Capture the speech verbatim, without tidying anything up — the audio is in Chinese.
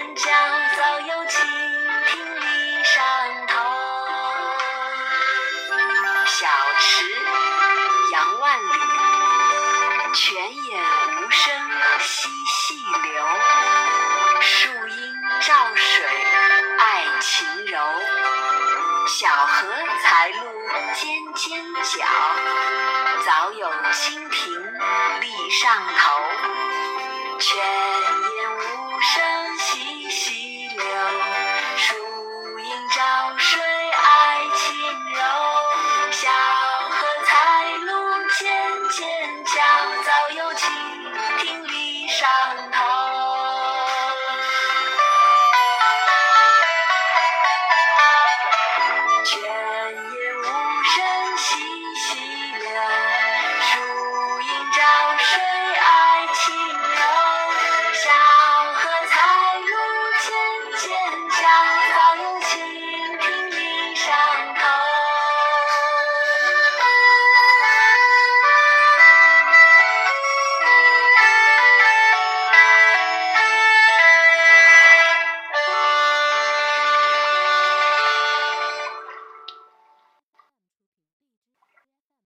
雁叫，早有蜻蜓立上头。小池，杨万里。泉眼无声惜细流，树阴照水爱晴柔。小荷才露尖尖角，早有蜻蜓立上头。泉眼无声